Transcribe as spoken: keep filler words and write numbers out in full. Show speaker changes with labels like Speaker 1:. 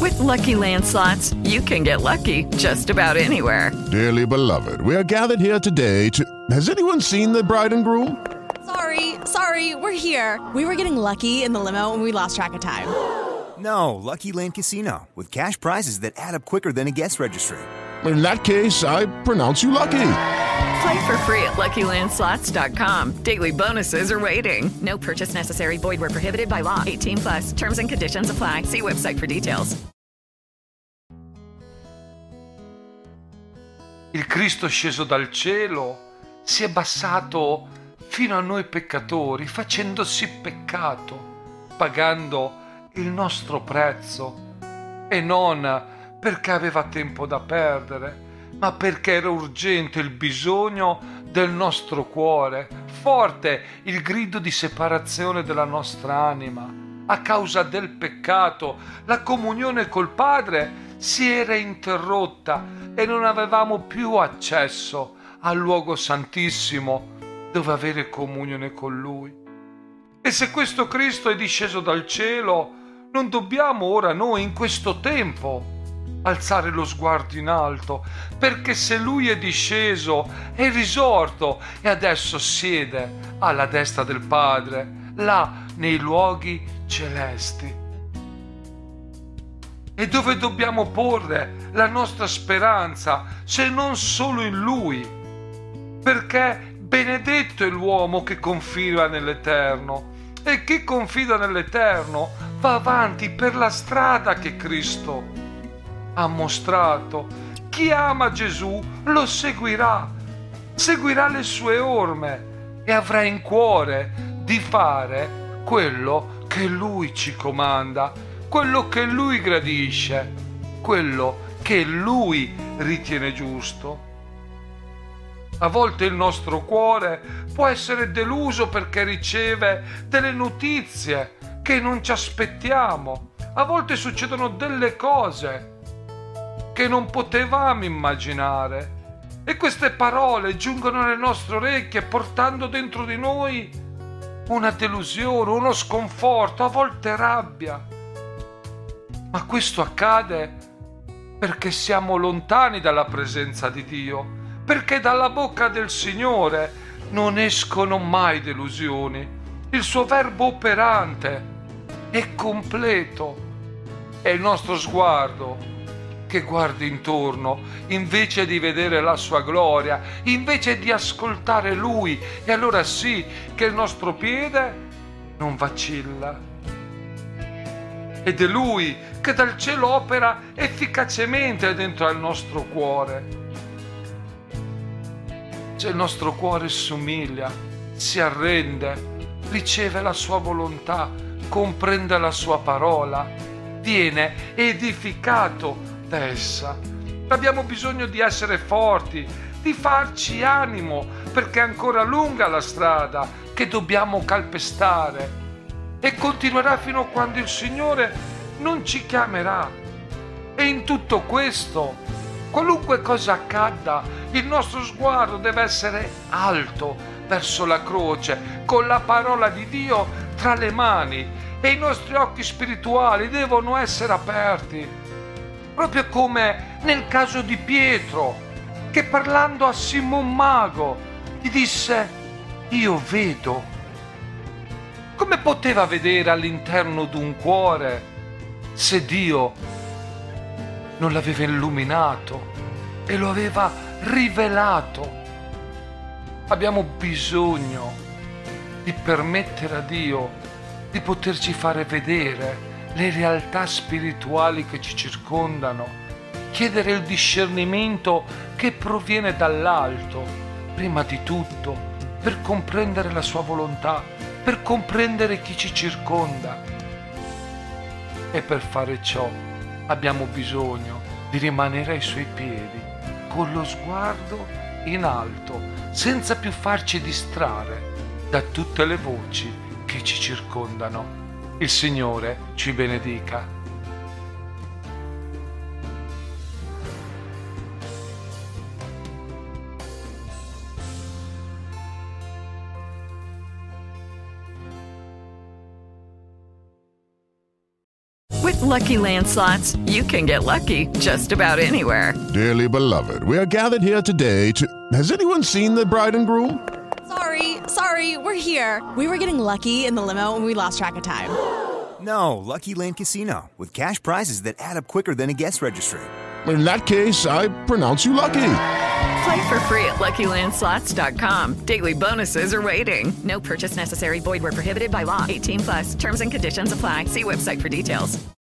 Speaker 1: With Lucky Land Slots, you can get lucky just about anywhere.
Speaker 2: Dearly beloved, we are gathered here today to... Has anyone seen the bride and groom?
Speaker 3: Sorry, sorry, we're here. We were getting lucky in the limo and we lost track of time.
Speaker 4: No, Lucky Land Casino, with cash prizes that add up quicker than a guest registry.
Speaker 2: In that case, I pronounce you lucky.
Speaker 1: Play for free at Lucky Land Slots dot com. Daily bonuses are waiting. No purchase necessary. Void where prohibited by law. eighteen plus. Terms and conditions apply. See website for details.
Speaker 5: Il Cristo sceso dal cielo si è abbassato fino a noi peccatori, facendosi peccato, pagando il nostro prezzo, e non perché aveva tempo da perdere, ma perché era urgente il bisogno del nostro cuore, forte il grido di separazione della nostra anima. A causa del peccato, la comunione col Padre si era interrotta e non avevamo più accesso al luogo santissimo dove avere comunione con Lui. E se questo Cristo è disceso dal cielo, non dobbiamo ora noi in questo tempo alzare lo sguardo in alto, perché se Lui è disceso, è risorto e adesso siede alla destra del Padre, là nei luoghi celesti. E dove dobbiamo porre la nostra speranza se non solo in Lui? Perché benedetto è l'uomo che confida nell'Eterno, e chi confida nell'Eterno va avanti per la strada che Cristo ha mostrato. Chi ama Gesù lo seguirà, seguirà le sue orme e avrà in cuore di fare quello che Lui ci comanda, quello che Lui gradisce, quello che Lui ritiene giusto. A volte il nostro cuore può essere deluso perché riceve delle notizie che non ci aspettiamo. A volte succedono delle cose che non potevamo immaginare, e queste parole giungono alle nostre orecchie portando dentro di noi una delusione, uno sconforto, a volte rabbia. Ma questo accade perché siamo lontani dalla presenza di Dio, perché dalla bocca del Signore non escono mai delusioni. Il suo verbo operante è completo. È il nostro sguardo che guardi intorno, invece di vedere la sua gloria, invece di ascoltare Lui, e allora sì che il nostro piede non vacilla. Ed è Lui che dal cielo opera efficacemente dentro al nostro cuore. Se il nostro cuore si umilia, si arrende, riceve la sua volontà, comprende la sua parola, viene edificato da essa. Abbiamo bisogno di essere forti, di farci animo, perché è ancora lunga la strada che dobbiamo calpestare, e continuerà fino a quando il Signore non ci chiamerà. E in tutto questo, qualunque cosa accada, il nostro sguardo deve essere alto verso la croce, con la parola di Dio tra le mani, e i nostri occhi spirituali devono essere aperti, proprio come nel caso di Pietro, che parlando a Simon Mago gli disse: io vedo. Come poteva vedere all'interno di un cuore se Dio non l'aveva illuminato e lo aveva rivelato? Abbiamo bisogno di permettere a Dio di poterci fare vedere le realtà spirituali che ci circondano, chiedere il discernimento che proviene dall'alto, prima di tutto, per comprendere la sua volontà, per comprendere chi ci circonda. E per fare ciò abbiamo bisogno di rimanere ai suoi piedi, con lo sguardo in alto, senza più farci distrarre da tutte le voci che ci circondano. Il Signore ci benedica.
Speaker 1: With Lucky Land Slots, you can get lucky just about anywhere.
Speaker 2: Dearly beloved, we are gathered here today to... Has anyone seen the bride and groom?
Speaker 3: Sorry, sorry, we're here. We were getting lucky in the limo and we lost track of time.
Speaker 4: No, Lucky Land Casino, with cash prizes that add up quicker than a guest registry.
Speaker 2: In that case, I pronounce you lucky.
Speaker 1: Play for free at Lucky Land Slots dot com. Daily bonuses are waiting. No purchase necessary. Void where prohibited by law. eighteen plus. Terms and conditions apply. See website for details.